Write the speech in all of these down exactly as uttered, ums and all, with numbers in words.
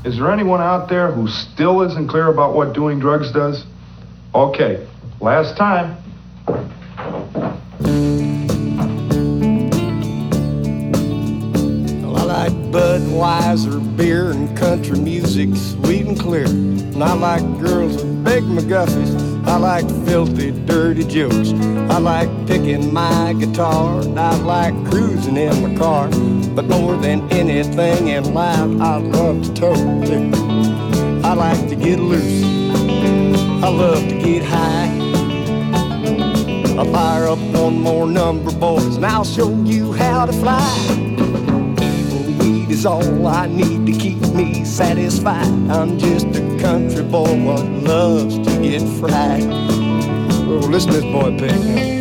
Is there anyone out there who still isn't clear about what doing drugs does? Okay, last time. Well, I like Budweiser beer and country music, sweet and clear. And I like girls with big McGuffies. I like filthy, dirty jokes. I like picking my guitar, and I like cruising in my car. But more than anything in life, I love to tote. I like to get loose. I love to get high. I'll fire up one more number, boys, and I'll show you how to fly. Weed is all I need to keep me satisfied. I'm just a country boy what loves to get fried. Oh, listen to this boy pick.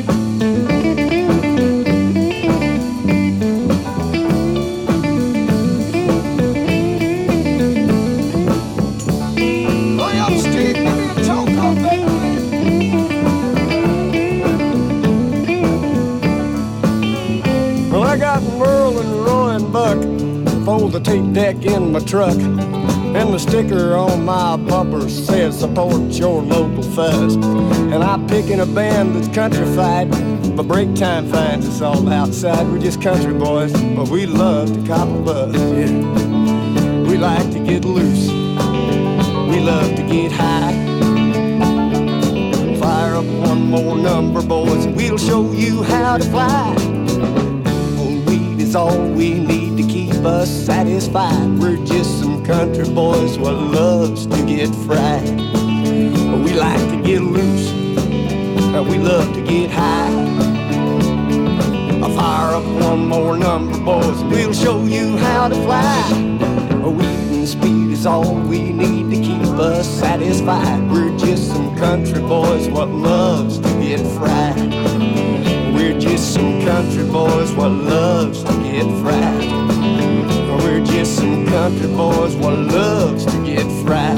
Fold the tape deck in my truck, and the sticker on my bumper says support your local fuzz. And I'm picking a band that's countrified, but break time finds us all outside. We're just country boys, but we love to cop a buzz. Yeah. We like to get loose, we love to get high. Fire up one more number, boys, and we'll show you how to fly. Weed is all we need to keep us satisfied. We're just some country boys what loves to get fried. We like to get loose, and we love to get high. I'll fire up one more number, boys, and we'll show you how to fly. Weed and speed is all we need to keep us satisfied. We're just some country boys what loves to get fried. We're just some country boys what loves to get fried. We're just some country boys what loves to get fried.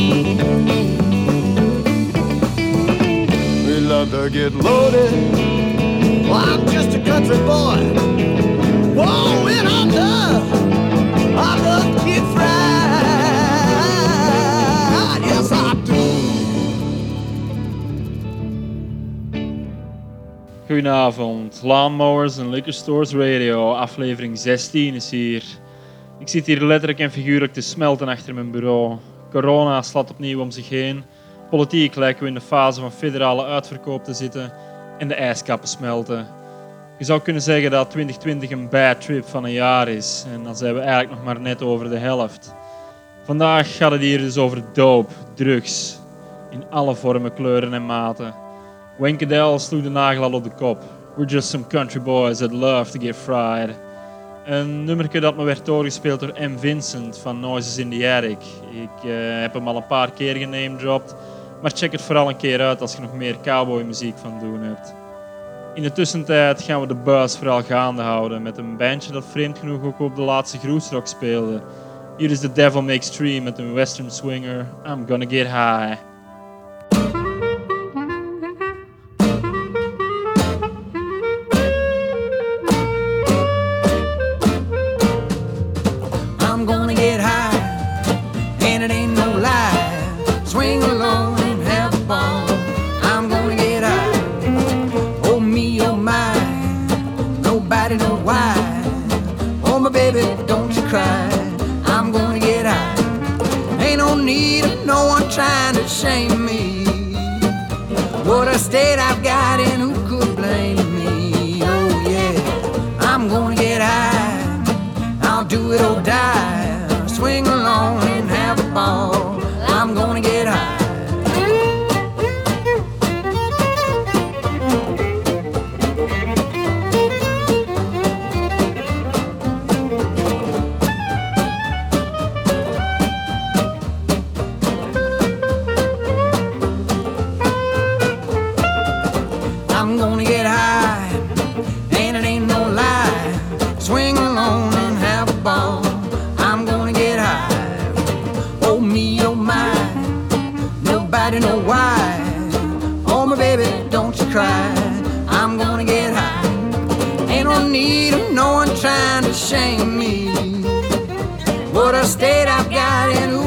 We love to get loaded. Well, I'm just a country boy. Whoa, and I love, I love to get fried. Yes, I do. Goedenavond, Lawnmowers en Liquor Stores Radio, aflevering zestien is hier. Ik zit hier letterlijk en figuurlijk te smelten achter mijn bureau. Corona slaat opnieuw om zich heen. Politiek lijken we in de fase van federale uitverkoop te zitten en de ijskappen smelten. Je zou kunnen zeggen dat twintig twintig een bad trip van een jaar is en dan zijn we eigenlijk nog maar net over de helft. Vandaag gaat het hier dus over dope, drugs, in alle vormen, kleuren en maten. Wayne Cadell sloeg de nagel al op de kop. We're just some country boys that love to get fried. Een nummerke dat me werd doorgespeeld door M. Vincent van Noises in the Attic. Ik uh, heb hem al een paar keer genamedropt, maar check het vooral een keer uit als je nog meer cowboymuziek van doen hebt. In de tussentijd gaan we de buzz vooral gaande houden met een bandje dat vreemd genoeg ook op de laatste Groesrock speelde. Hier is The Devil Makes Three met een western swinger, I'm Gonna Get High. Trying to shame me. What a state I've got and who could blame me? Oh yeah, I'm gonna get high. I'll do it or die. Swing along and have a ball. I'm gonna get high. Shame me. What a state I've got in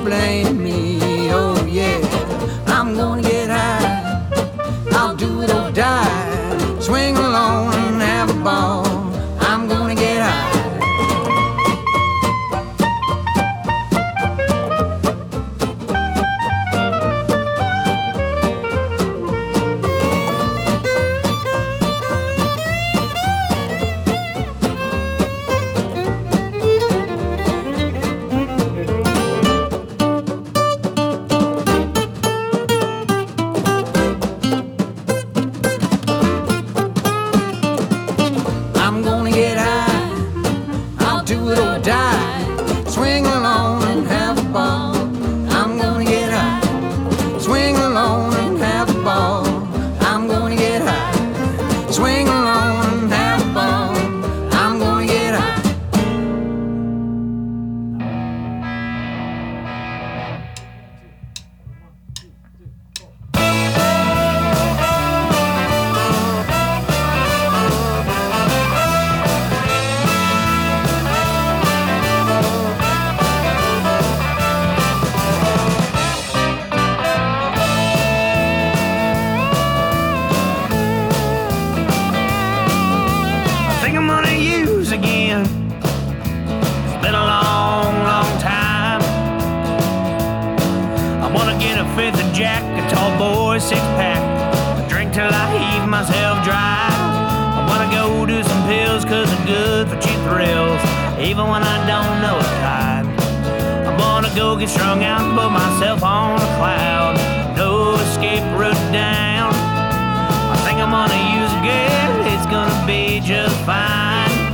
blame me. Oh yeah, I'm gonna get high. I'll do it or die. Swing alone and have a ball. I'm gonna get high. I'm gonna get high. I'll do it or die. Swing alone and have a ball. I'm gonna get high. Swing alone and have a ball. I'm gonna get high. Swing alone and have a ball. I'm gonna get high. I think I'm gonna use again. It's been a long, long time. I wanna get a fifth of Jack, a tall boy six pack, drink till I heave myself dry. I wanna go do some pills cause they're good for cheap thrills, even when I don't know a kind. I wanna go get strung out and put myself on a cloud, no escape route down. I think I'm gonna use again, it's gonna be just fine.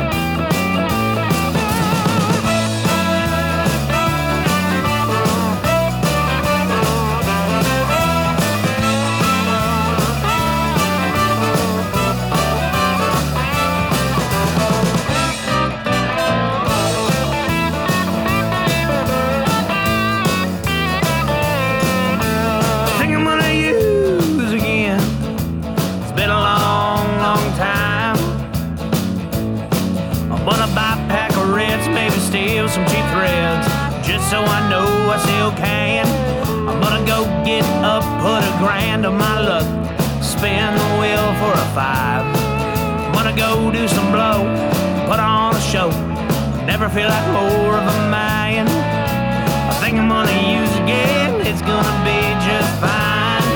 I think I'm gonna use again. It's been a long, long time. I'm gonna buy a pack of reds, maybe steal some cheap threads, just so I know I still can. I'm gonna go get up, put a grand on my luck, spin the wheel for a five. I'm gonna go do some blow, put on a show, never feel like more of a man. I think I'm gonna use again, it's gonna be just fine.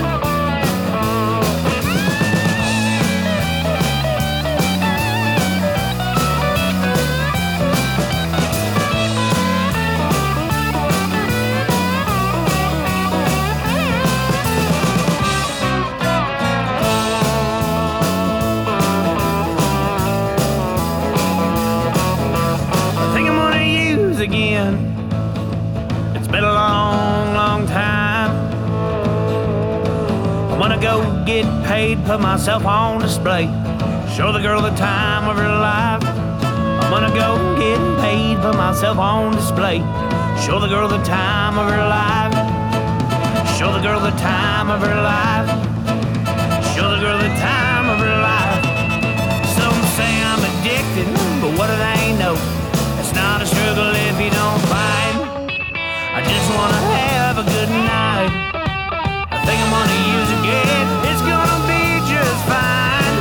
I think I'm gonna use again. It's been a long, long time. I wanna go get paid, put myself on display, show the girl the time of her life. I'm gonna go get paid, put myself on display, show the girl the time of her life. Show the girl the time of her life. Show the girl the time of her life. Some say I'm addicted, but what do they know? It's not a struggle if you don't fight. I just wanna have a good night. I think I'm gonna use again. It's gonna be just fine.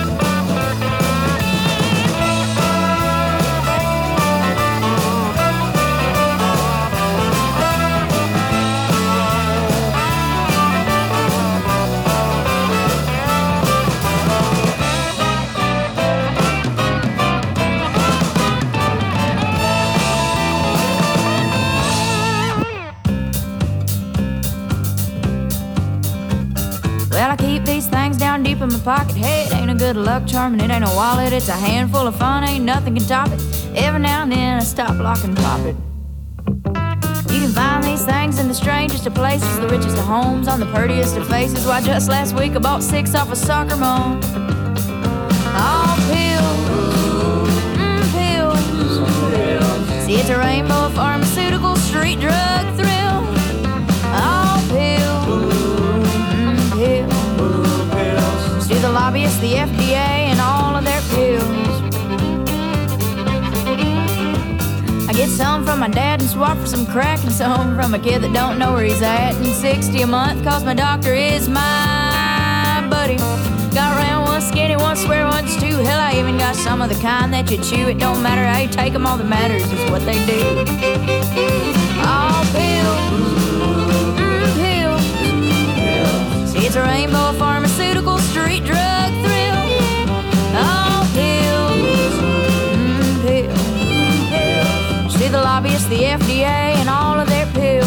Well, I keep these things down deep in my pocket. Hey, it ain't a good luck charm and it ain't a wallet. It's a handful of fun, ain't nothing can top it. Every now and then I stop, lock, and pop it. You can find these things in the strangest of places, the richest of homes, on the prettiest of faces. Why, just last week I bought six off a soccer mom. All pills, mm, pills. See, it's a rainbow of pharmaceutical street drug thrill. All pills, mm, pills. See the lobbyists, the F D A, and all of their pills. I get some from my dad and swap for some crack, and some from a kid that don't know where he's at. And sixty a month, cause my doctor is my buddy. Got round one, skinny one, square ones too. Hell, I even got some of the kind that you chew. It don't matter how you take them, all that matters is what they do. All pills, mm, pills. See, it's a rainbow pharmaceutical street drug thrill. All pills, mm, pills. See the lobbyists, the F D A, and all of their pills.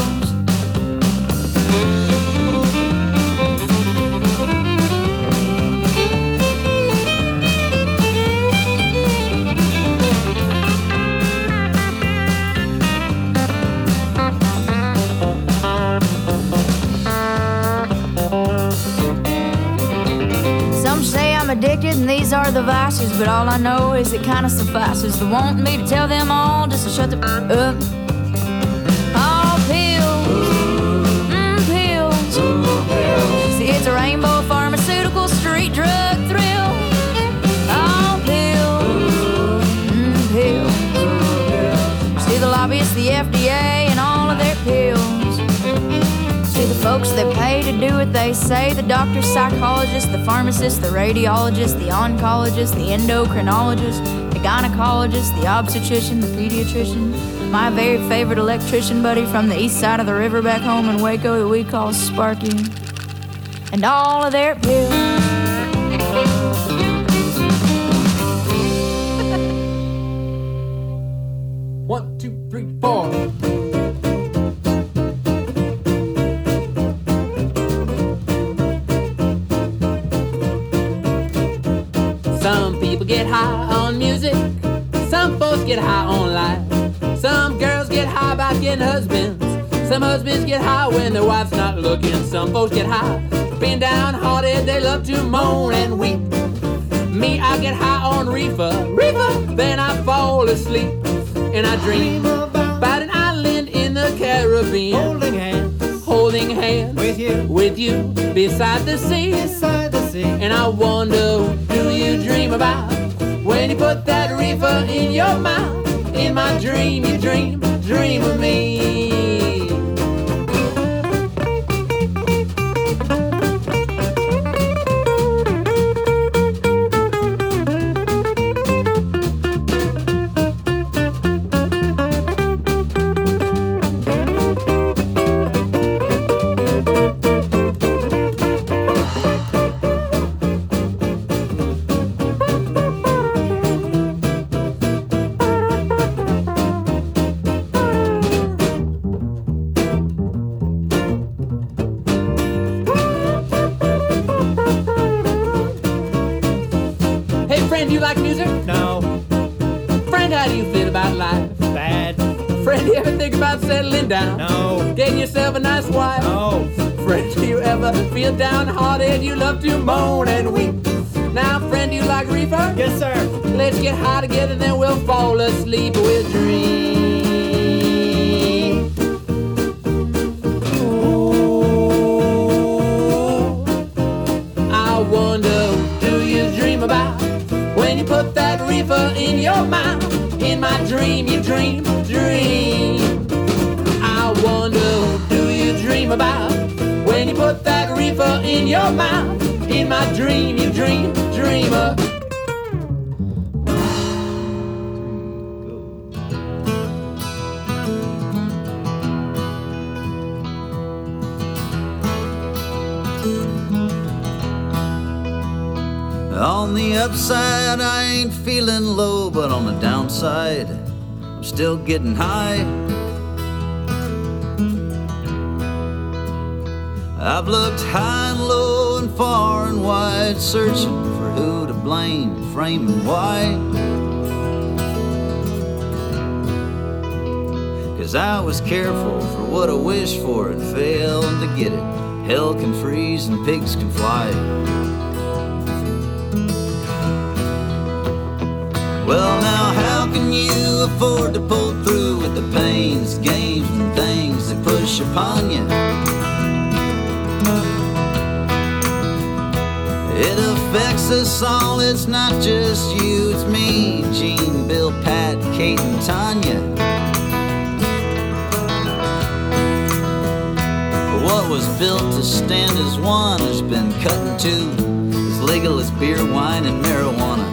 Addicted, and these are the vices, but all I know is it kinda suffices. They want me to tell them all just to shut the f- up. All pills, mm, pills. See, it's a rainbow pharmaceutical street drug thrill. All pills, mm, pills. See the lobbyists, the F D A, and all of their pills. See the folks that pay to do what they say, the doctors, psychologists, the pharmacists, the radiologists, the oncologists, the endocrinologists, the gynecologist, the obstetrician, the pediatrician, my very favorite electrician buddy from the east side of the river back home in Waco that we call Sparky, and all of their pills. One, two, three, four. Some people get high on music, some folks get high on life. Some girls get high by getting husbands, some husbands get high when their wife's not looking. Some folks get high being downhearted, they love to moan and weep. Me, I get high on reefer, reefer, then I fall asleep. And I dream about an island in the Caribbean, holding hands, holding hands with you, with you beside the sea, beside the sea. And I wonder, do you dream about when you put that reefer in your mouth? In my dream, you dream, dream of me. Friend, you like music? No. Friend, how do you feel about life? Bad. Friend, you ever think about settling down? No. Getting yourself a nice wife? No. Friend, do you ever feel downhearted? You love to moan and weep. Now, friend, do you like reefer? Yes, sir. Let's get high together, then we'll fall asleep. We'll dream. Ooh, I wonder, do you dream about when you put that reefer in your mouth? In my dream, you dream, dream. I wonder, do you dream about when you put that reefer in your mouth? In my dream, you dream, dreamer. On the upside, I ain't feeling low, but on the downside, I'm still getting high. I've looked high and low and far and wide, searching for who to blame, framing why. 'Cause I was careful for what I wished for and failed to get it. Hell can freeze and pigs can fly. Well, now how can you afford to pull through with the pains, games, and things that push upon you? It affects us all, it's not just you, it's me, Gene, Bill, Pat, Kate, and Tanya. stand as one who's been cut in two, as legal as beer, wine, and marijuana.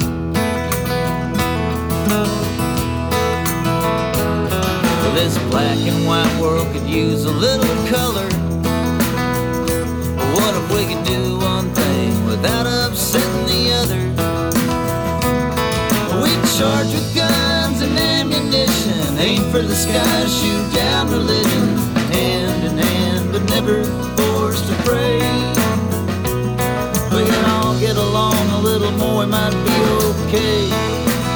Well, this black and white world could use a little color. What if we could do one thing without upsetting the other? We charge with guns and ammunition, aim for the sky, shoot down religion, hand in hand, but never forced to pray. We can all get along a little more, it might be okay.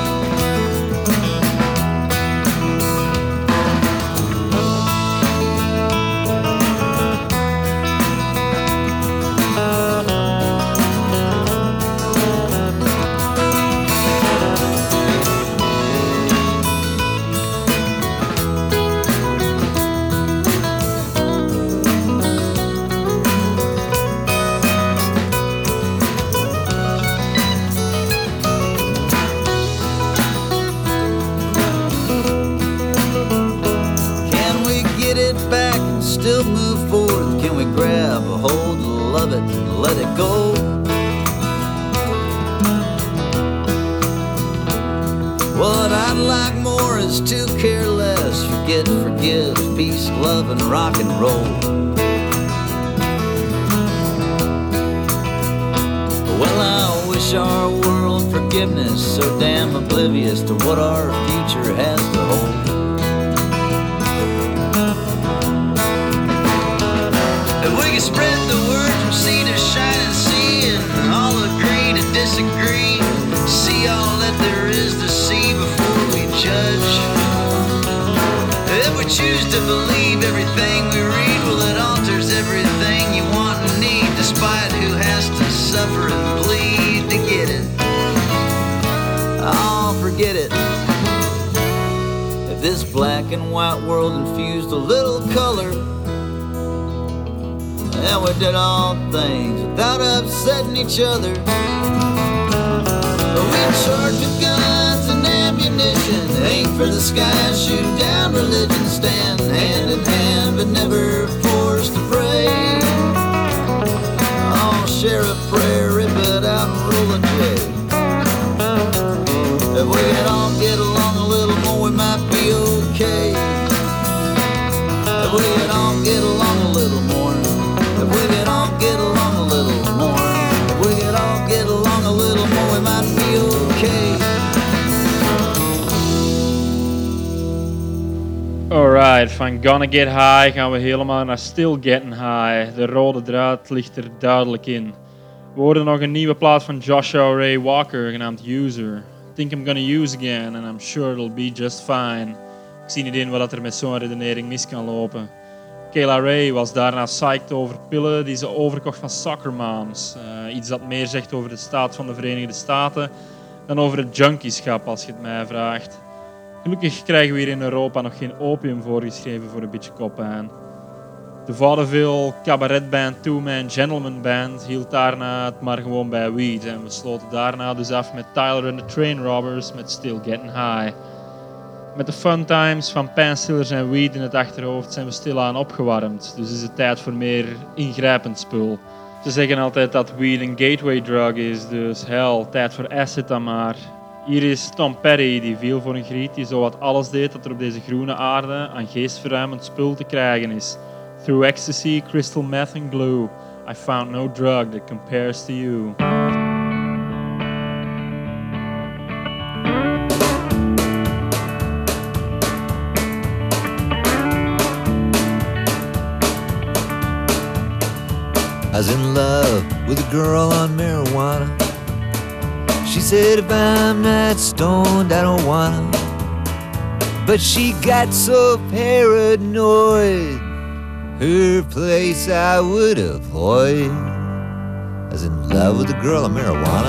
Still move forward, can we grab a hold of it and let it go? What I'd like more is to care less, forget, forgive, peace, love, and rock and roll. Well, I wish our world forgiveness, so damn oblivious to what our future has to hold. If we can spread the word from sea to shining sea and all agree to disagree, see all that there is to see before we judge. If we choose to believe everything we read, well, it alters everything you want and need, despite who has to suffer and bleed to get it. Oh, forget it. If this black and white world infused a little color, and we did all things without upsetting each other. We charge with guns and ammunition, aim for the sky, shoot down religion, stand hand in hand, but never forced to pray. Oh, share a prayer, rip it out and roll a J. If we could all get along a little more, we might be okay. If we could all get along a little more. If we could all get along a little more, if we could all get along a little more, we might be okay. Alright, van Gonna Get High gaan we helemaal naar Still Getting High. De rode draad ligt er duidelijk in. We hoorden nog een nieuwe plaat van Joshua Ray Walker, genaamd User. Think I'm gonna use again and I'm sure it'll be just fine. Ik zie niet in wat er met zo'n redenering mis kan lopen. Kayla Ray was daarna psyched over pillen die ze overkocht van soccer moms. Uh, iets dat meer zegt over de staat van de Verenigde Staten dan over het junkieschap, als je het mij vraagt. Gelukkig krijgen we hier in Europa nog geen opium voorgeschreven voor een beetje koppijn. De vaudeville cabaretband Two Man Gentleman Band hield daarna het maar gewoon bij weed. En we sloten daarna dus af met Tyler and the Train Robbers met Still Getting High. Met de fun times van pijnstillers en weed in het achterhoofd zijn we stilaan opgewarmd. Dus is het tijd voor meer ingrijpend spul. Ze zeggen altijd dat weed een gateway drug is, dus hell, tijd voor acid dan maar. Hier is Tom Petty, die viel voor een griet die zowat alles deed dat er op deze groene aarde aan geestverruimend spul te krijgen is. Through ecstasy, crystal meth and glue, I found no drug that compares to you. I was in love with a girl on marijuana. She said if I'm not stoned I don't wanna. But she got so paranoid, her place I would avoid. I was in love with a girl on marijuana.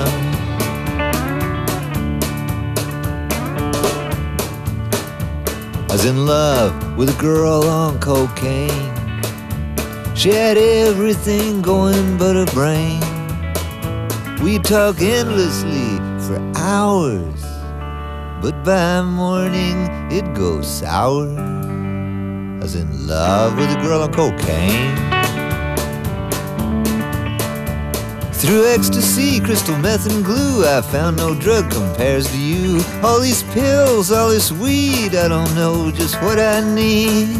I was in love with a girl on cocaine. She had everything going but her brain. We'd talk endlessly for hours, but by morning it'd go sour. I was in love with a girl on cocaine. Through ecstasy, crystal meth and glue, I found no drug compares to you. All these pills, all this weed, I don't know just what I need.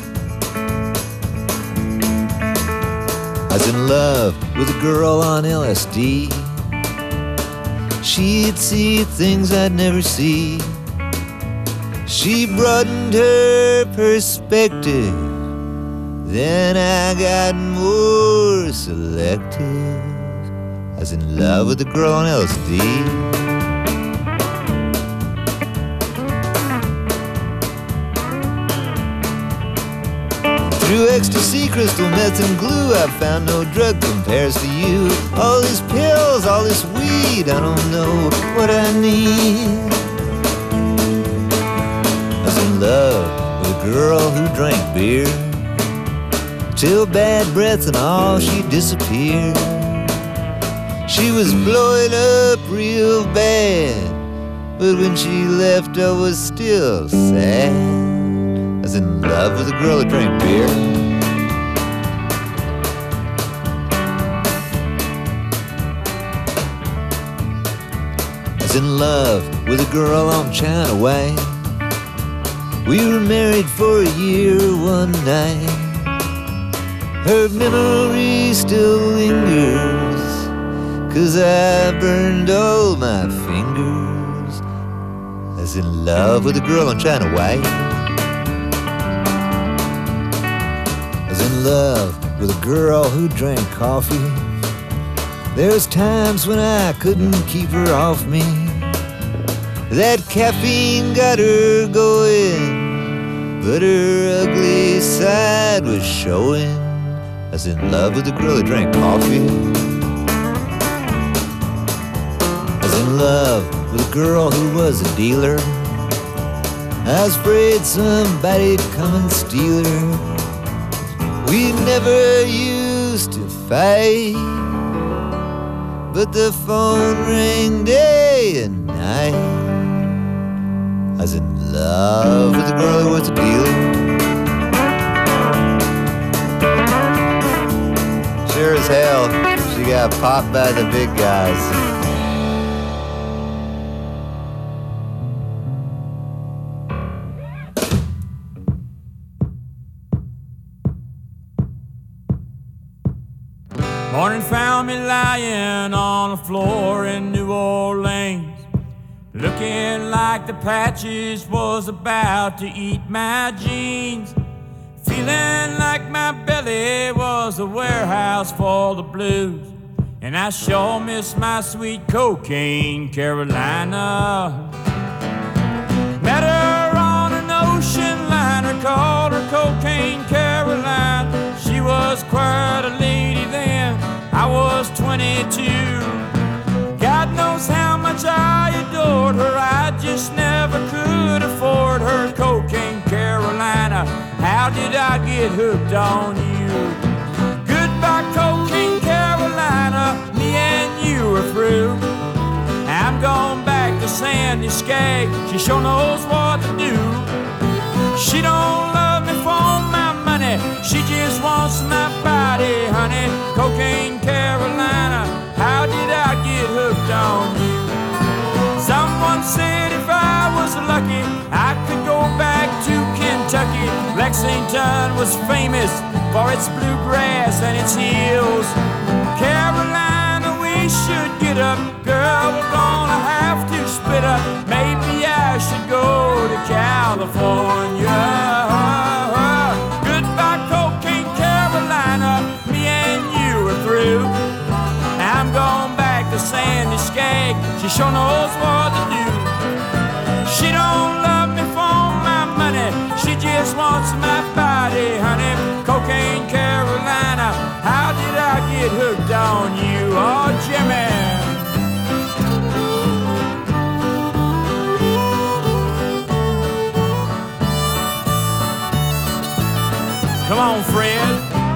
I was in love with a girl on L S D. She'd see things I'd never see. She broadened her perspective. Then I got more selective. I was in love with a girl on L S D. Through ecstasy, crystal meth and glue, I found no drug compares to you. All these pills, all this weed, I don't know what I need. I was in love with a girl who drank beer till bad breath and all she disappeared. She was blowing up real bad, but when she left I was still sad. I was in love with a girl that drank beer. I was in love with a girl on China Way. We were married for a year one night. Her memory still lingers, 'cause I burned all my fingers. I was in love with a girl on China White. I was in love with a girl who drank coffee. There was times when I couldn't keep her off me. That caffeine got her going, but her ugly side was showing. I was in love with a girl that drank coffee. I was in love with a girl who was a dealer. I was afraid somebody'd come and steal her. We never used to fight, but the phone rang day and night. I was in love with a girl who was a dealer. Sure as hell, she got popped by the big guys. Morning found me lying on the floor in New Orleans, looking like the patches was about to eat my jeans. Feeling like my belly was a warehouse full of blues, and I sure miss my sweet cocaine Carolina. Met her on an ocean liner, called her Cocaine Caroline. She was quite a lady then, I was twenty-two. God knows how much I adored her, I just never could afford her. Cocaine Carolina, how did I get hooked on you? Goodbye Cocaine Carolina, me and you are through. I'm going back to Sandy Skag, she sure knows what to do. She don't love me for my money, she just wants my body, honey. Cocaine Carolina, how did I get hooked on you? Someone said if I was lucky, I could go back to Kentucky. Lexington was famous for its bluegrass and its hills. Carolina, we should get up, girl, we're gonna have to split up. Maybe I should go to California. Goodbye Cocaine Carolina, me and you are through. I'm going back to Sandy Skag, she sure knows what to do. She don't love me for my money, she just wants my body, honey. Cocaine Carolina, how did I get hooked on you? Oh, Jimmy. Come on, Fred.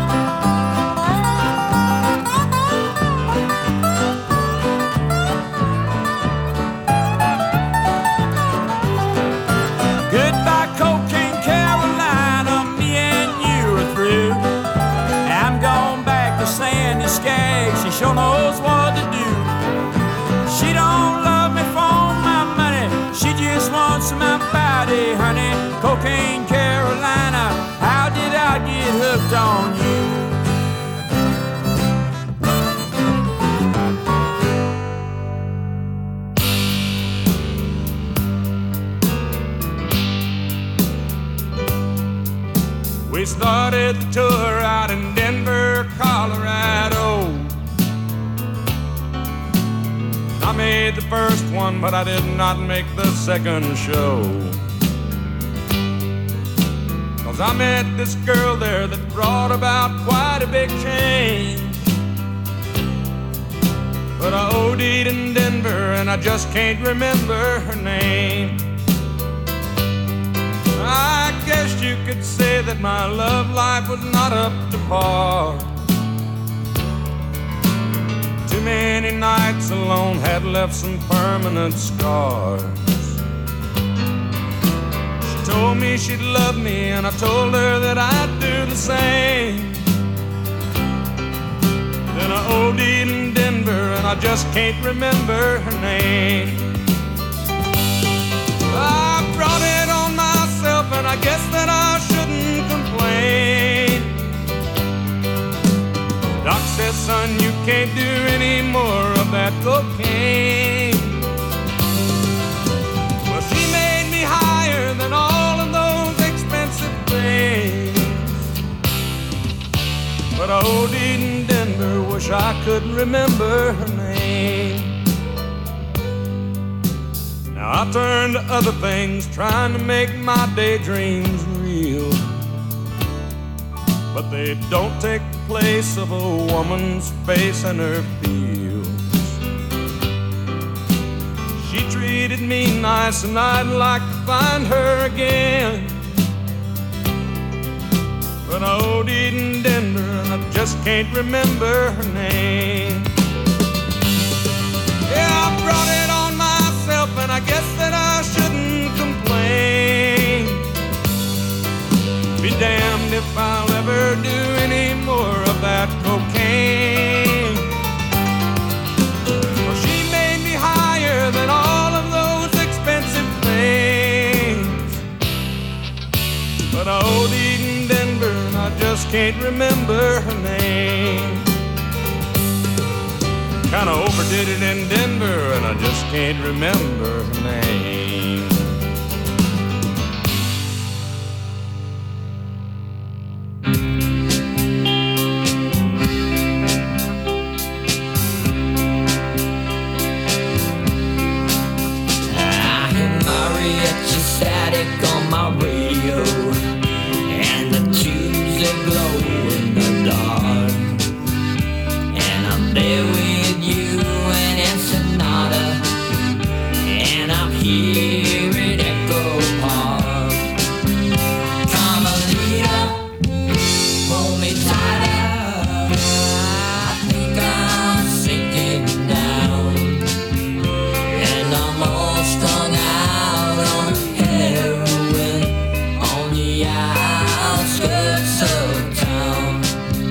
Goodbye, Cocaine Carolina, me and you are through. I'm going back to Sandy Skag, she sure knows what wants my body, honey. Cocaine Carolina, how did I get hooked on you? We started the tour out in Denver, Colorado. I made the first one, but I did not make the second show. Cause I met this girl there that brought about quite a big change. But I OD'd in Denver and I just can't remember her name. I guess you could say that my love life was not up to par. Too many nights alone had left some permanent scars. She told me she'd love me and I told her that I'd do the same. Then I OD'd in Denver and I just can't remember her name. I brought it on myself and I guess that I shouldn't complain. Doc says, son, you can't do any more of that cocaine. Well, she made me higher than all of those expensive things. But I OD'd in Denver, wish I could remember her name. Now I turn to other things, trying to make my daydreams real. But they don't take the place of a woman's face and her feels. She treated me nice and I'd like to find her again. But I OD'd in Denver and I just can't remember her name. Yeah, I brought it on myself and I guess that I shouldn't complain. Be damned if I'll ever do any more of that cocaine. Well, she made me higher than all of those expensive things. But I OD'd in Denver and I just can't remember her name. Kinda overdid it in Denver and I just can't remember her name. Static on my radio, and the tubes that glow in the dark. And I'm there with you and Ensenada, and I'm here at Echo Park. Carmelita, hold me tighter, I think I'm sinking down, and I'm all strung out on heroin on the outskirts of town.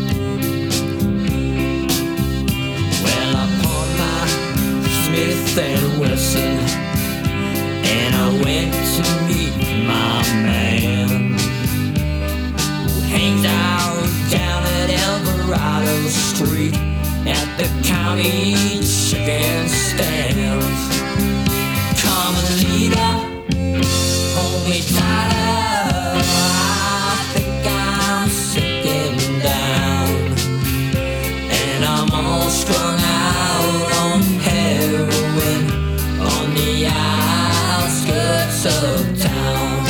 Well, I bought my Smith and Wesson and I went to meet my man who hangs out down at Alvarado Street at the county chicken stands. Carmelita, hold me tighter, I think I'm sinking down, and I'm all strung out on heroin on the outskirts of town.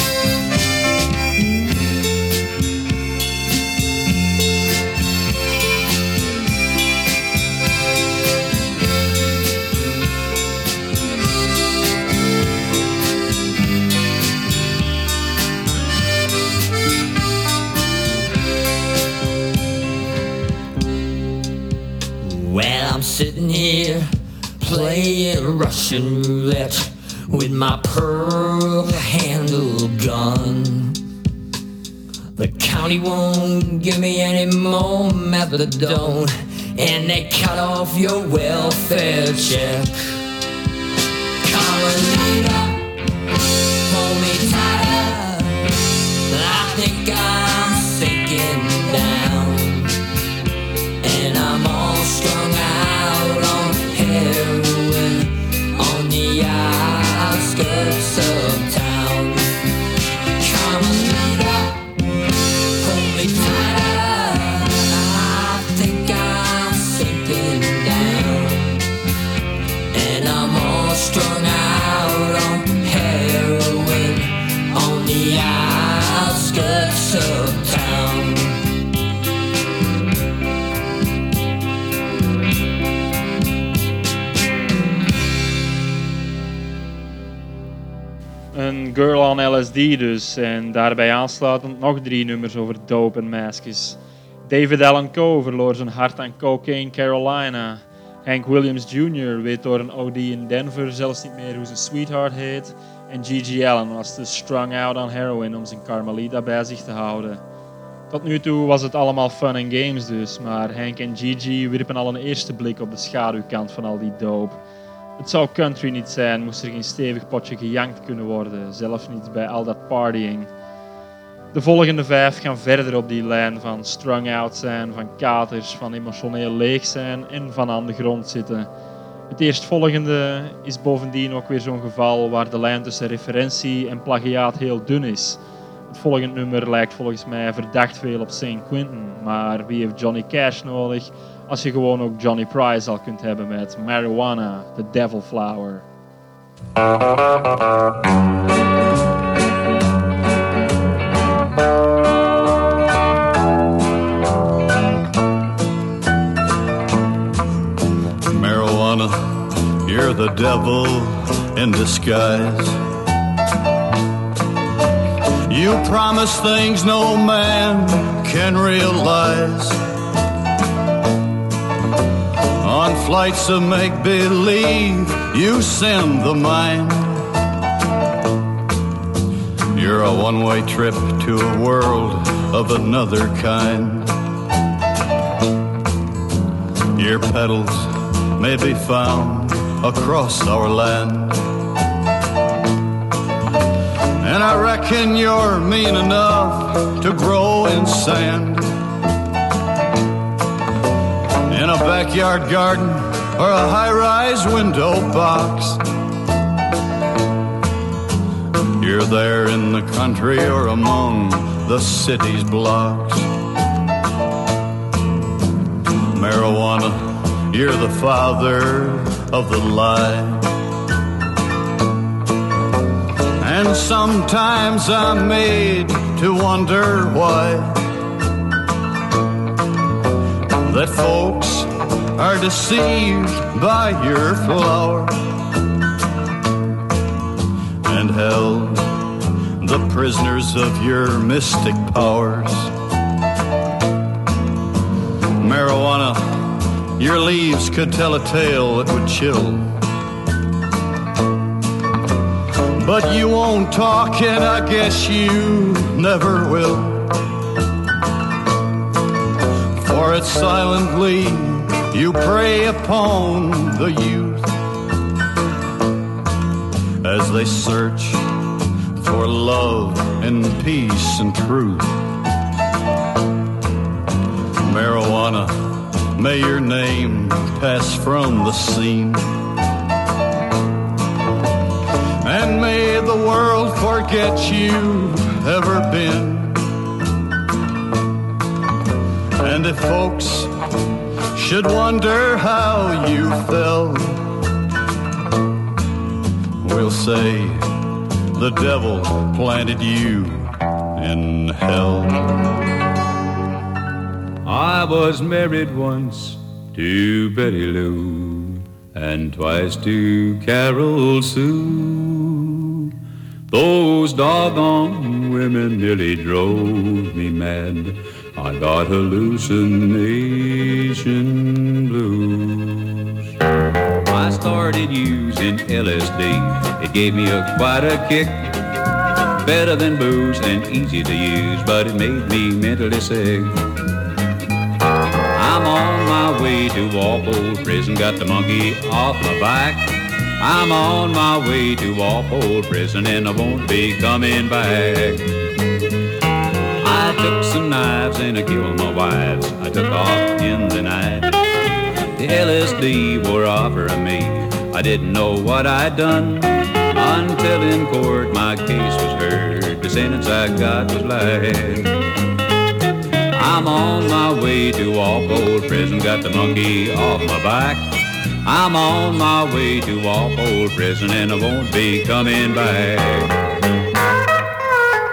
Well, I'm sitting here playing Russian roulette with my pearl handle gun. The county won't give me any more methadone, and they cut off your welfare check. Carmelita, the outskirts of town. Een Girl on L S D dus, en daarbij aansluitend nog drie nummers over dope en meisjes. David Allan Coe verloor zijn hart aan Cocaine Carolina. Hank Williams junior weet door een O D in Denver zelfs niet meer hoe zijn sweetheart heet. En Gigi Allen was te strung out aan heroin om zijn Carmelita bij zich te houden. Tot nu toe was het allemaal fun and games dus, maar Hank en Gigi wierpen al een eerste blik op de schaduwkant van al die dope. Het zou country niet zijn, moest er geen stevig potje gejankt kunnen worden, zelfs niet bij al dat partying. De volgende vijf gaan verder op die lijn van strung out zijn, van katers, van emotioneel leeg zijn en van aan de grond zitten. Het eerstvolgende is bovendien ook weer zo'n geval waar de lijn tussen referentie en plagiaat heel dun is. Het volgende nummer lijkt volgens mij verdacht veel op Saint Quentin, maar wie heeft Johnny Cash nodig als je gewoon ook Johnny Price al kunt hebben met Marijuana, The Devil Flower. Marijuana, you're the devil in disguise. You promise things no man can realize. On flights of make-believe, you send the mind. You're a one-way trip to a world of another kind. Your petals may be found across our land. And I reckon you're mean enough to grow in sand. In a backyard garden or a high-rise window box. You're there in the country or among the city's blocks. Marijuana, you're the father of the lie. And sometimes I'm made to wonder why that folks are deceived by your flower and held the prisoners of your mystic powers. Marijuana, your leaves could tell a tale that would chill. But you won't talk, and I guess you never will. For it's silently you prey upon the youth as they search for love and peace and truth. Marijuana, may your name pass from the scene. And may the world forget you've ever been. And if folks should wonder how you fell, we'll say the devil planted you in hell. I was married once to Betty Lou and twice to Carol Sue. Those doggone women nearly drove me mad. I got hallucination blues. I started using L S D. It gave me a quite a kick. Better than booze and easy to use, but it made me mentally sick. I'm on my way to Walpole Prison, got the monkey off my back. I'm on my way to Walpole Prison and I won't be coming back. I took some knives and I killed my wives. I took off in the night. The L S D were offering me. I didn't know what I'd done until in court my case was heard. The sentence I got was life. I'm on my way to Walpole Prison, got the monkey off my back. I'm on my way to Walpole Prison and I won't be coming back.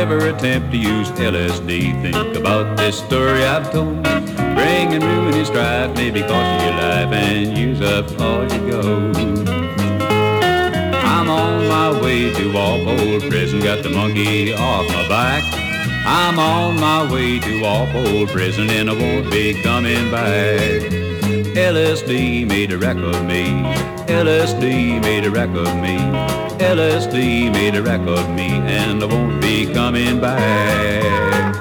ever attempt to use L S D. Think about this story I've told. Bringing ruin and strife, maybe cost you your life and use up all your gold. I'm on my way to Walpole Prison, got the monkey off my back. I'm on my way to Walpole Prison and I won't be coming back. L S D made a wreck of me. L S D made a wreck of me. L S D made a wreck of me and I won't be coming back.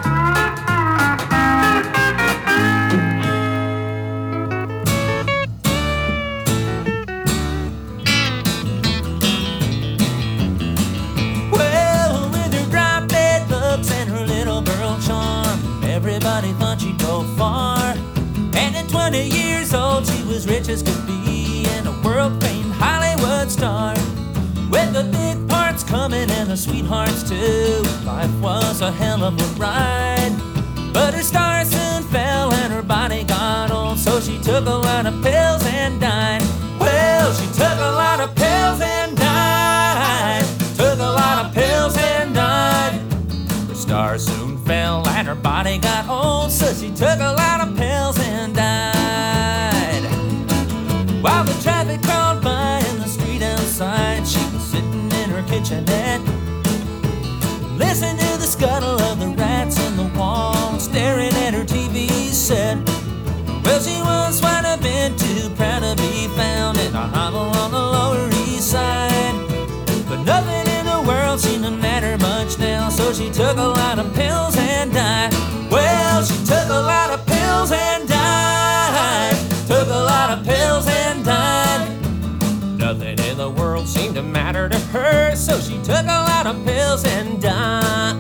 Well, with her drop dead looks and her little girl charm, everybody thought she'd go far. And at twenty years old, she was rich as could be and a world-famed Hollywood star. With the big parts coming and the sweethearts too, life was a hell of a ride. But her star soon fell and her body got old, so she took a lot of pills and died. Well, she took a lot of pills and died. Took a lot of pills and died. Her star soon fell and her body got old, so she took a lot of pills and died. While the traffic crawled by in the street outside, she was sitting in her kitchenette, listening to the scuttle of the rats in the wall, staring at her T V set. Well, she once might have been too proud to be found in a hovel on the Lower East Side, but nothing in the world seemed to matter much now, so she took a lot of pills and died. Well, she took a lot of pills and died. Took a lot of pills and died. Nothing in the world seemed to matter to her, so she took a lot of pills and died.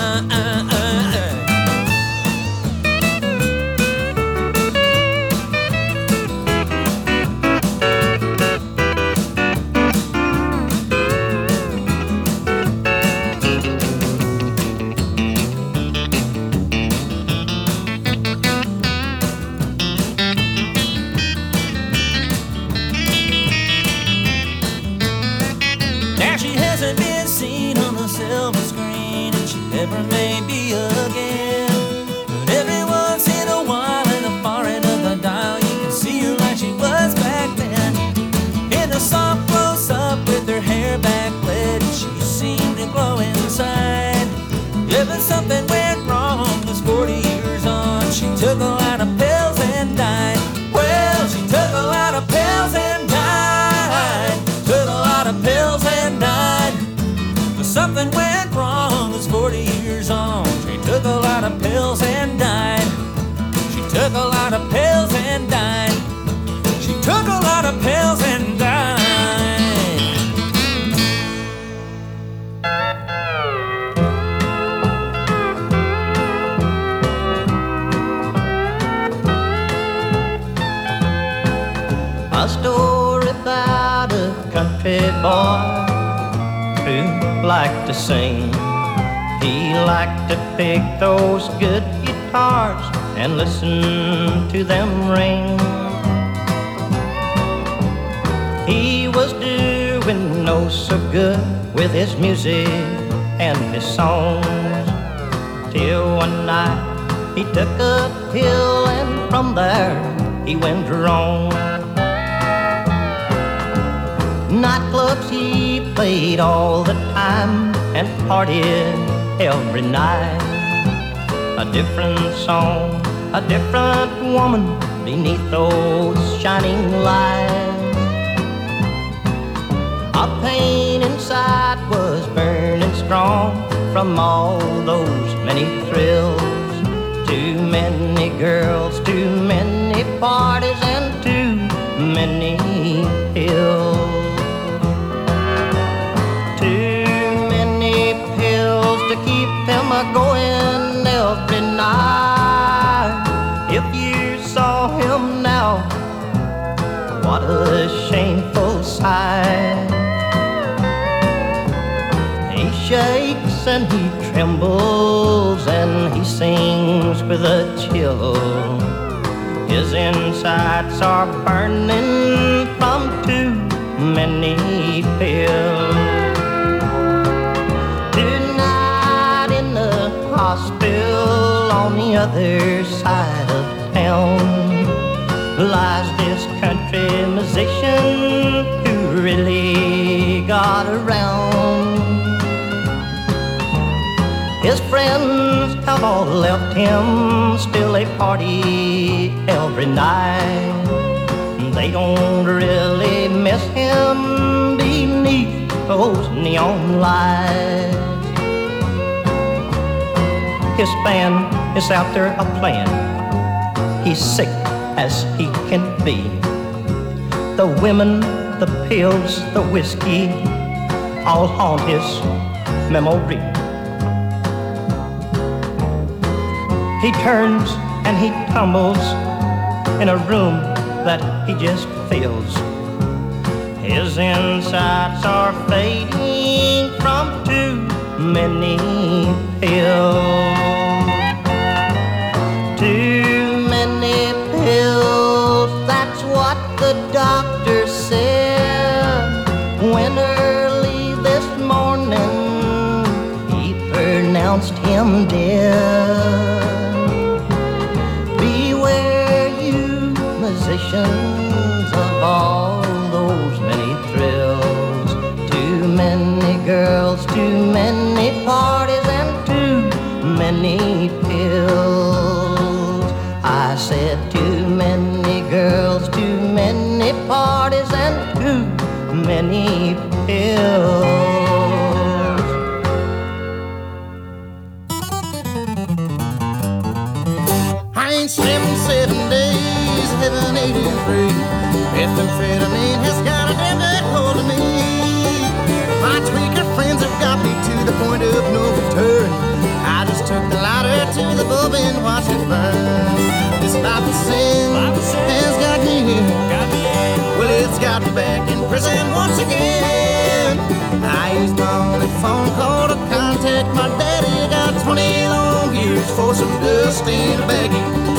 Never may be again, but every once in a while in the far end of the dial you can see her like she was back then. In a soft close-up with her hair backlit, she seemed to glow inside. Yeah, but something went wrong, was forty years on. She took a lot of pills and died. Well, she took a lot of pills and died. Took a lot of pills and died. But something went wrong, was forty years on. She took a lot of pills and died. She took a lot of pills and died. She took a lot of pills and died. A story about a country boy who liked to sing. He liked to pick those good guitars and listen to them ring. He was doing no so good with his music and his songs, till one night he took a pill and from there he went wrong. Nightclubs he played all the time and partied every night. A different song, a different woman beneath those shining lights. A pain inside was burning strong from all those many thrills. Too many girls, too many parties, and too many pills. To keep him a-going every night. If you saw him now, what a shameful sight. He shakes and he trembles and he sings with a chill. His insides are burning from too many pills. other side of town lies this country musician who really got around. His friends have all left him, still they party every night. They don't really miss him beneath those neon lights. His band is out there a playing. He's sick as he can be. The women, the pills, the whiskey all haunt his memory. He turns and he tumbles in a room that he just fills. His insides are fading from too many pills. Too many pills, that's what the doctor said when early this morning he pronounced him dead. Beware you musicians of all those many thrills. Too many girls, too many parties, and too many pills. I said too many girls, too many parties, and too many pills. I ain't seven, seven days, living eighty-three. Methamphetamine has got a damn good hold of me. My tweaker friends have got me to the point of no return. I just took the lighter to the bulb and watched it burn. This life of sin has got me here. Well, it's got me back in prison once again. I used my only phone call to contact my daddy. Got twenty long years for some dust in a baggie.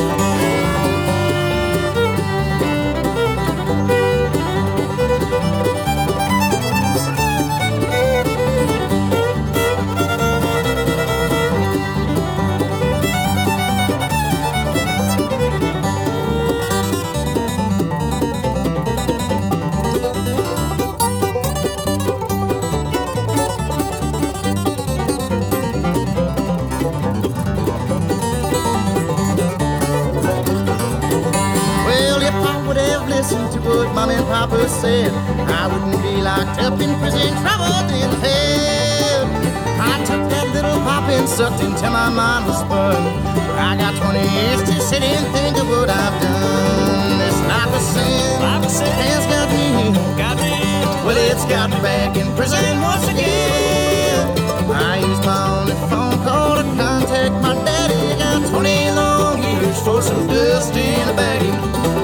Listen to what Mom and Papa said, I wouldn't be locked up in prison, troubled in hell. I took that little pop and sucked until my mind was spun. I got twenty years to sit and think of what I've done. This life of sin, life of sin has got me, got me. Well, it's got me back in prison once again. I used my only phone call to contact my daddy. Got twenty long years for some dust in a baggie.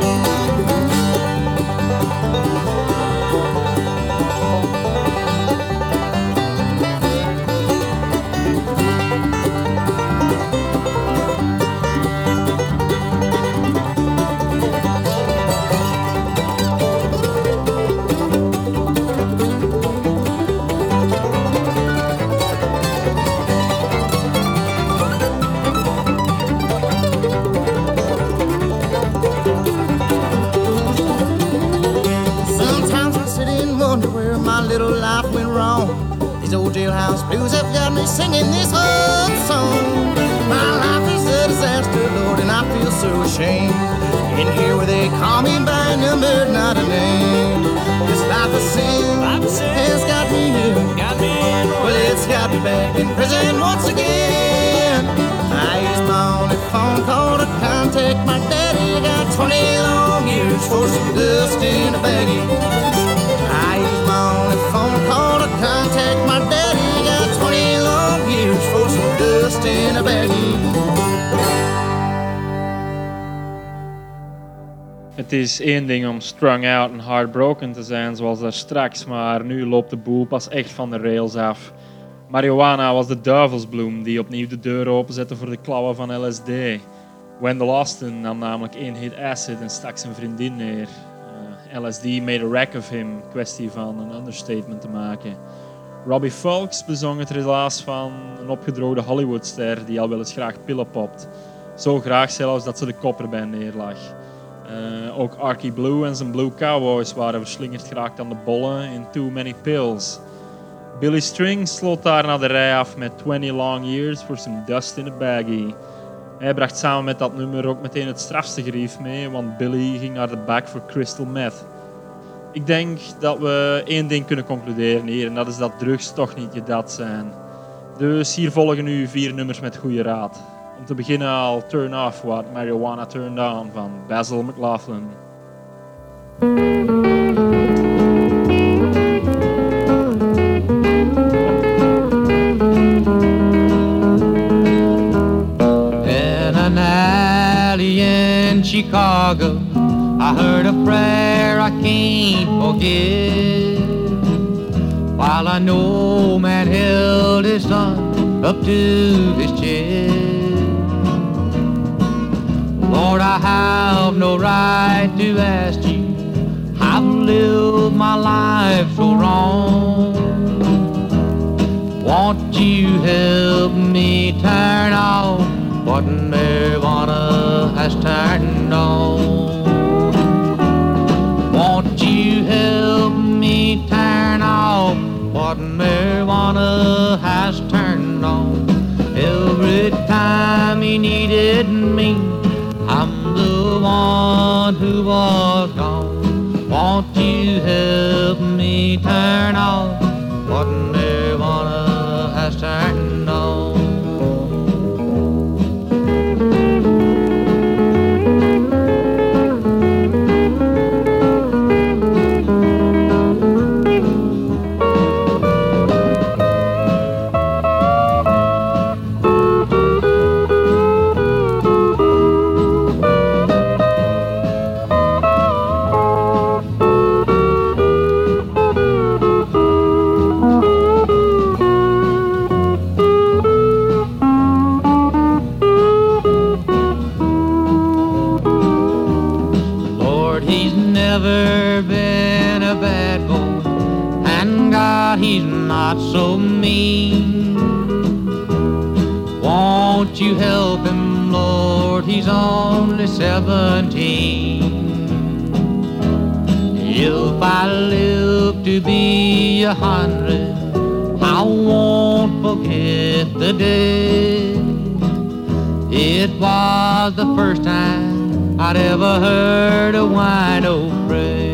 Jailhouse blues have got me singing this old song. My life is a disaster, Lord, and I feel so ashamed. In here where they call me by a number, not a name. This life of sin has got me here. Well, it's got me back in prison once again. I used my only phone call to contact my daddy. Got twenty long years for some dust in a baggie. I used my only phone call to contact my daddy. Got twenty long years for some dust in a baggie. Het is één ding om strung out en heartbroken te zijn zoals daar straks, maar nu loopt de boel pas echt van de rails af. Marijuana was de duivelsbloem die opnieuw de deur openzette voor de klauwen van L S D. Wendell Austin nam namelijk één hit acid en stak zijn vriendin neer. Uh, L S D made a wreck of him, kwestie van een understatement te maken. Robbie Fulks bezong het relaas van een opgedroogde Hollywoodster die al wel eens graag pillen popt. Zo graag zelfs dat ze de kop erbij neerlag. Uh, ook Arky Blue en zijn Blue Cowboys waren verslingerd geraakt aan de bollen in Too Many Pills. Billy Strings sloot daarna de rij af met twenty Long Years for Some Dust in a Baggie. Hij bracht samen met dat nummer ook meteen het strafste gerief mee, want Billy ging naar de bak voor crystal meth. Ik denk dat we één ding kunnen concluderen hier, en dat is dat drugs toch niet je dat zijn. Dus hier volgen nu vier nummers met goede raad. Om te beginnen al Turn Off What Marijuana Turned On van Basil McLaughlin. In an alley in Chicago, I heard a prayer I can't forget. While I know man held his son up to his chest. Lord, I have no right to ask you, I've lived my life so wrong. Won't you help me turn off what marijuana has turned on? Won't you help me turn off what marijuana has turned on? Every time he needed me, I'm the one who was gone. Won't you help me turn off what marijuana has turned on? Not so mean. Won't you help him, Lord? He's only seventeen. If I live to be a hundred, I won't forget the day. It was the first time I'd ever heard a wino pray.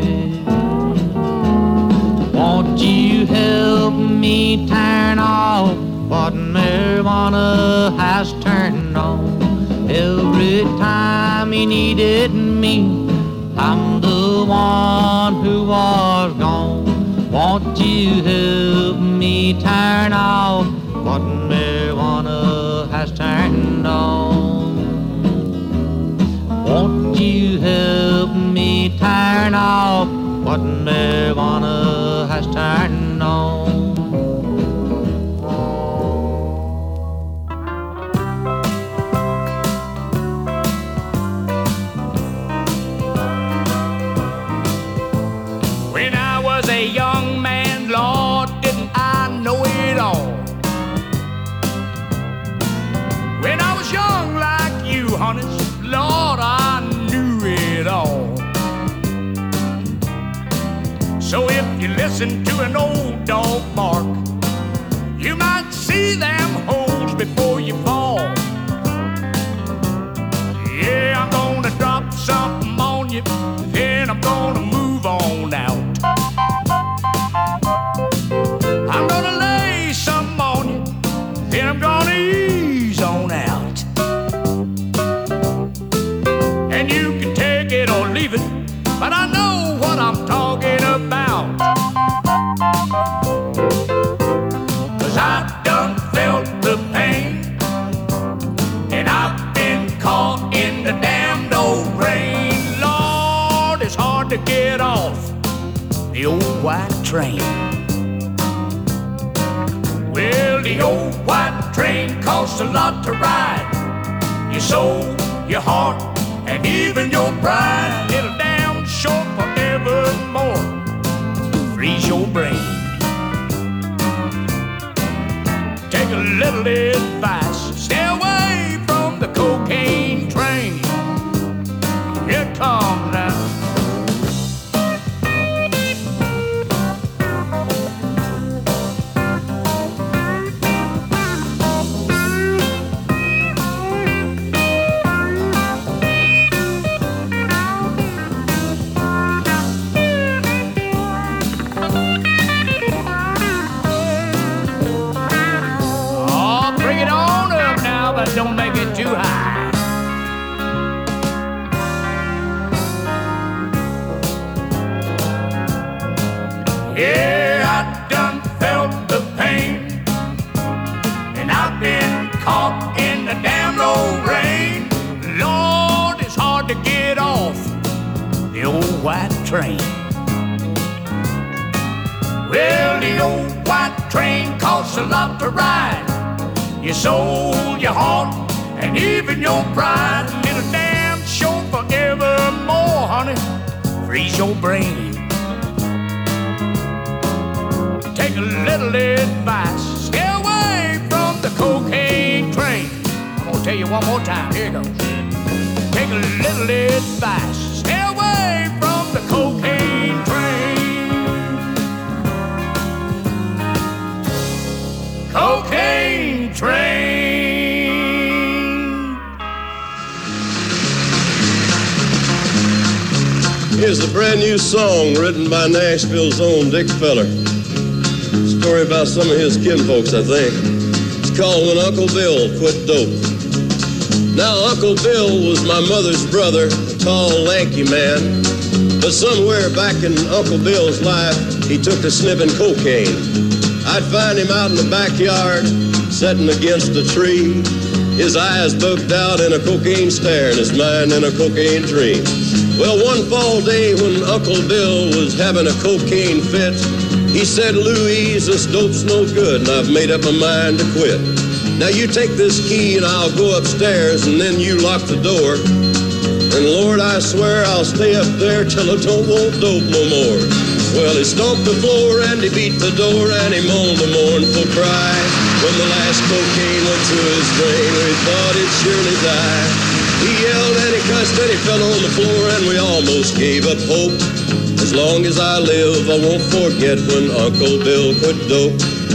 Won't you help me turn off what marijuana has turned on? Every time he needed me, I'm the one who was gone. Won't you help me turn off what marijuana has turned on? Won't you help me turn off what marijuana has turned on? When I was a young man, Lord, didn't I know it all? When I was young like you, honest, Lord, I knew it all. So if you listen to an old dog bark, you might see them holes before you fall. Yeah, I'm gonna drop something on you, then I'm gonna move on out. I'm gonna lay something on you, then I'm gonna ease on out. And you can take it or leave it, but I know what I'm talking about. Cause I done felt the pain, and I've been caught in the damned old rain. Lord, it's hard to get off the old white train. Well, the old white train costs a lot to ride. Your soul, your heart, and even your pride. It'll damn short forevermore freeze your brain. Take a little advice, stay away from the cocaine Yeah, I done felt the pain, and I've been caught in the damn old rain. Lord, it's hard to get off the old white train. Well, the old white train costs a lot to ride. Your soul, your heart, and even your pride. And it'll damn sure forevermore, honey, freeze your brain. Take a little advice, stay away from the cocaine train. I'm gonna tell you one more time, here it goes. Take a little advice, stay away from the cocaine train. Cocaine train. Here's a brand new song written by Nashville's own Dick Feller. Story about some of his kinfolks, I think. It's called When Uncle Bill Quit Dope. Now, Uncle Bill was my mother's brother, a tall, lanky man. But somewhere back in Uncle Bill's life, he took to sniffing cocaine. I'd find him out in the backyard, sitting against a tree. His eyes bugged out in a cocaine stare and his mind in a cocaine dream. Well, one fall day when Uncle Bill was having a cocaine fit, he said, Louise, this dope's no good, and I've made up my mind to quit. Now you take this key and I'll go upstairs, and then you lock the door. And Lord, I swear I'll stay up there till I don't want dope no more. Well, he stomped the floor and he beat the door and he moaned a mournful cry. When the last cocaine went through his brain, we thought he'd surely die. He yelled and he cussed and he fell on the floor and we almost gave up hope. As long as I live, I won't forget when Uncle Bill quit dope.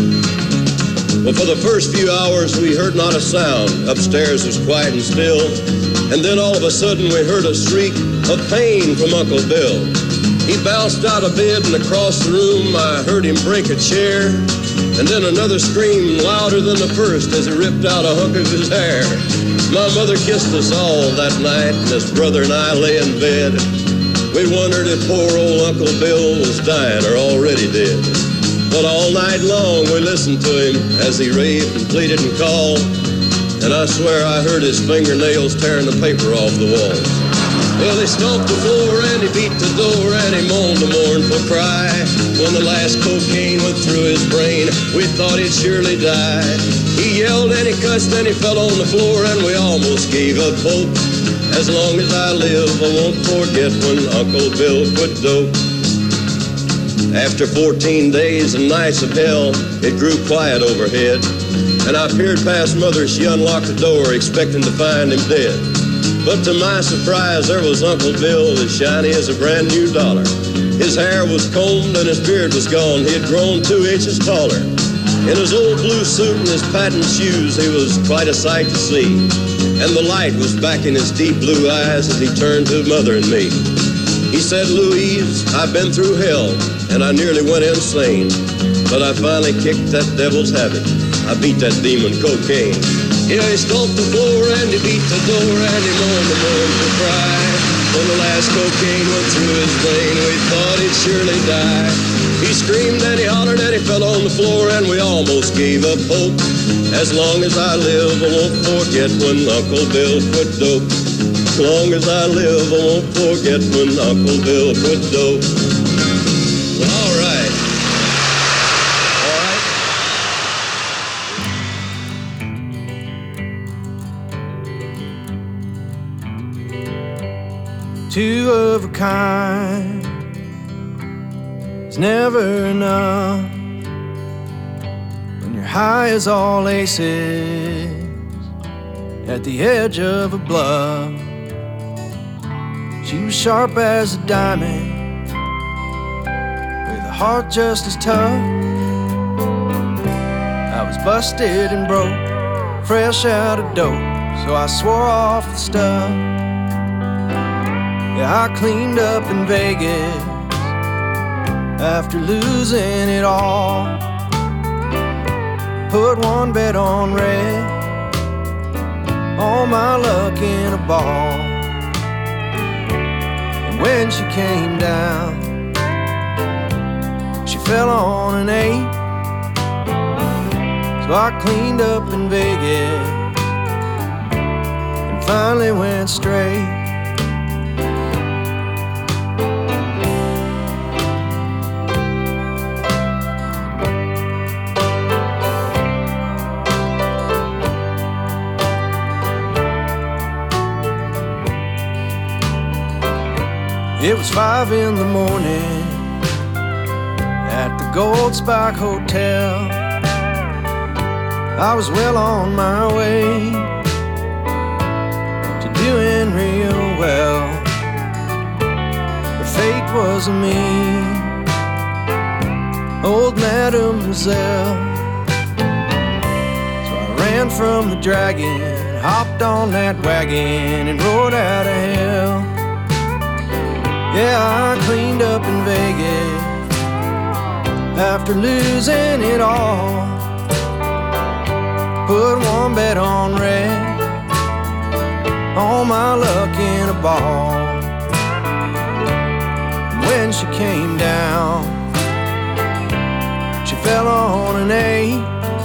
Well, for the first few hours, we heard not a sound. Upstairs was quiet and still. And then all of a sudden, we heard a shriek of pain from Uncle Bill. He bounced out of bed and across the room, I heard him break a chair. And then another scream louder than the first as he ripped out a hunk of his hair. My mother kissed us all that night, and his brother and I lay in bed. We wondered if poor old Uncle Bill was dying or already dead. But all night long we listened to him as he raved and pleaded and called. And I swear I heard his fingernails tearing the paper off the walls. Well, he stomped the floor and he beat the door and he moaned a mournful cry. When the last cocaine went through his brain, we thought he'd surely die. He yelled and he cussed and he fell on the floor and we almost gave up hope. As long as I live, I won't forget when Uncle Bill quit dope. After fourteen days and nights of hell, it grew quiet overhead. And I peered past Mother, she unlocked the door, expecting to find him dead. But to my surprise, there was Uncle Bill, as shiny as a brand new dollar. His hair was combed and his beard was gone, he had grown two inches taller. In his old blue suit and his patent shoes, he was quite a sight to see. And the light was back in his deep blue eyes as he turned to Mother and me. He said, Louise, I've been through hell, and I nearly went insane. But I finally kicked that devil's habit. I beat that demon cocaine. Yeah, he stomped the floor and he beat the door and he moaned the mournful cry. When the last cocaine went through his vein, we thought he'd surely die. He screamed and he hollered and he fell on the floor and we almost gave up hope. As long as I live, I won't forget when Uncle Bill quit dope. As long as I live, I won't forget when Uncle Bill quit dope. All right. All right. Two of a kind is never enough when you're high as all aces at the edge of a bluff. She was sharp as a diamond with a heart just as tough. I was busted and broke, fresh out of dope, so I swore off the stuff. Yeah, I cleaned up in Vegas after losing it all. Put one bet on red, all my luck in a ball. And when she came down, she fell on an eight. So I cleaned up in Vegas and finally went straight. It was five in the morning at the Gold Spike Hotel. I was well on my way to doing real well, but fate was me, old mademoiselle. So I ran from the dragon, hopped on that wagon and rode out of hell. Yeah, I cleaned up in Vegas after losing it all. Put one bet on red, all my luck in a ball. When she came down, she fell on an eight.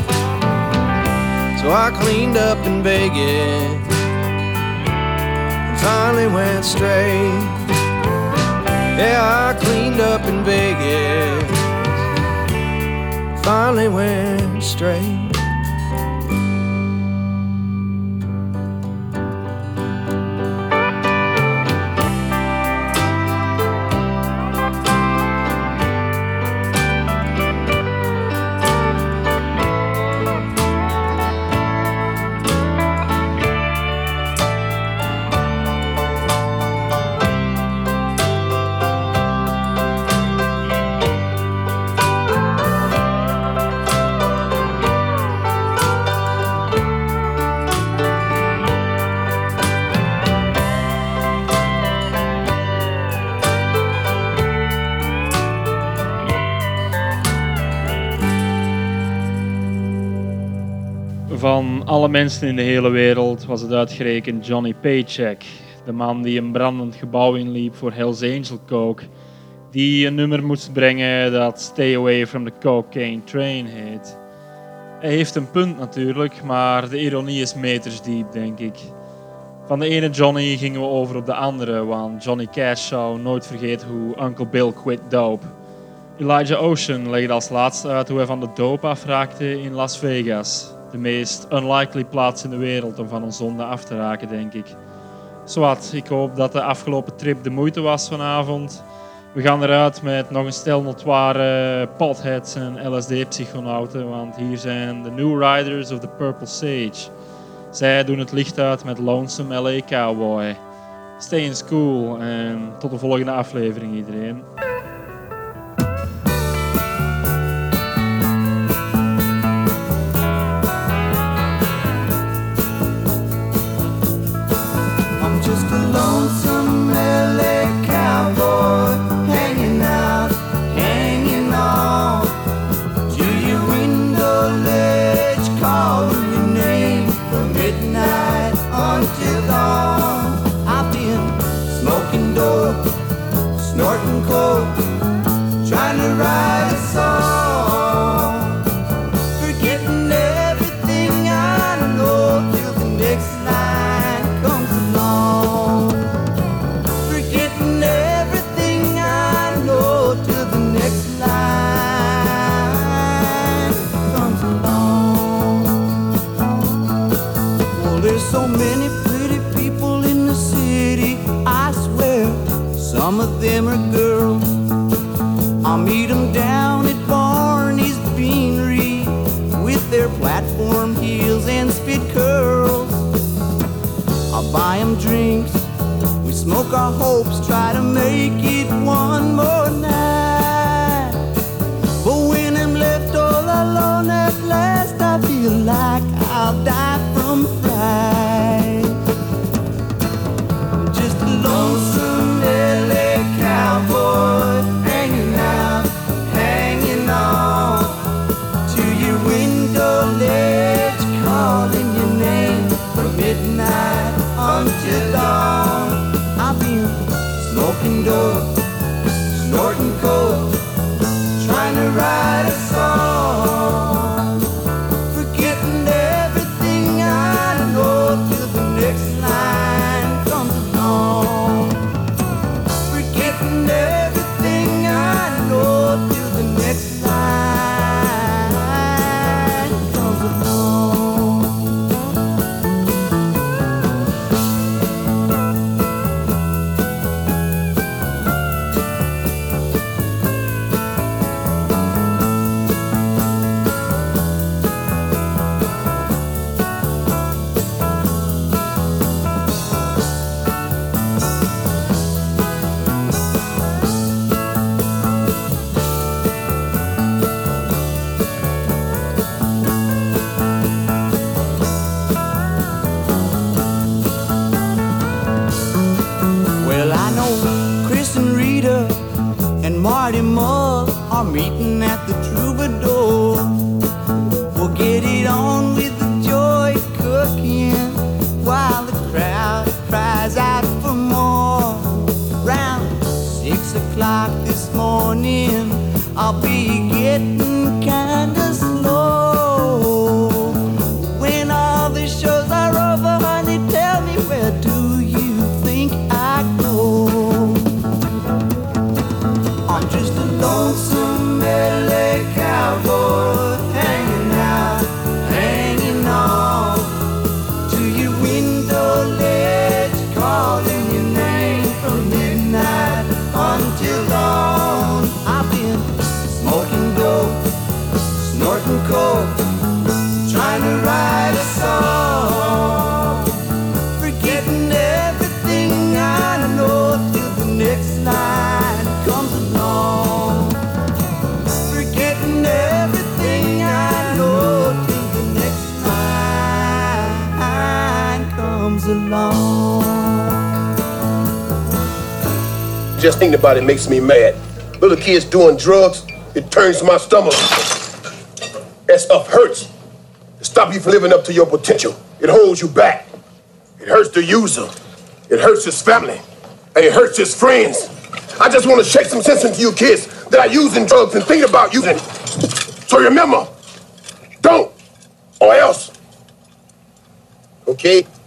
So I cleaned up in Vegas and finally went straight. Yeah, I cleaned up in Vegas, finally went straight. Van alle mensen in de hele wereld was het uitgerekend Johnny Paycheck. De man die een brandend gebouw inliep voor Hells Angel Coke. Die een nummer moest brengen dat Stay Away from the Cocaine Train heet. Hij heeft een punt natuurlijk, maar de ironie is metersdiep, denk ik. Van de ene Johnny gingen we over op de andere, want Johnny Cash zou nooit vergeten hoe Uncle Bill quit dope. Elijah Ocean legde als laatste uit hoe hij van de dope afraakte in Las Vegas. De meest unlikely plaats in de wereld om van een zonde af te raken, denk ik. Zowat, ik hoop dat de afgelopen trip de moeite was vanavond. We gaan eruit met nog een stel notoire potheads en L S D-psychonauten, want hier zijn de New Riders of the Purple Sage. Zij doen het licht uit met Lonesome L A Cowboy. Stay in school en tot de volgende aflevering iedereen. Snorting coke, trying to write a song, forgetting everything I know till the next line comes along. Forgetting everything I know till the next line comes along. Well, there's so many pretty people in the city, I swear. Some of them are girls. I'll meet them down at Barney's Beanery with their platform heels and spit curls. I'll buy them drinks, we smoke our hopes, try to make it one more night. But when I'm left all alone at last, I feel like I'll die from fright. I'm just a lonesome L A cowboy, hanging out, hanging on to your window ledge, calling your name from midnight until dawn. I've been smoking dope, snorting coke, trying to write a song, forgetting everything I know till the next line comes along. Forgetting everything I know till the next line comes along. Well, I know Chris and Rita and Marty Mull are meeting at the Troubadour. We'll get it on with the joy cooking while the crowd cries out for more. Round six o'clock this morning, I'll be getting kinda slow. When all the shows are over, honey, tell me, where do you think I go? I'm just a lonesome L A cowboy, hanging out, hanging on to your window ledge, calling your name from midnight until dawn. I've been smoking dope, snorting coke, trying to write a song, forgetting everything I know till the next line comes along. Forgetting everything I know till the next line comes along. Just thinking about it makes me mad. Little kids doing drugs, it turns my stomach. That stuff hurts. It stops you from living up to your potential. It holds you back. It hurts the user. It hurts his family. And it hurts his friends. I just want to shake some sense into you kids that are using drugs and thinking about using. So remember, don't, or else. Okay?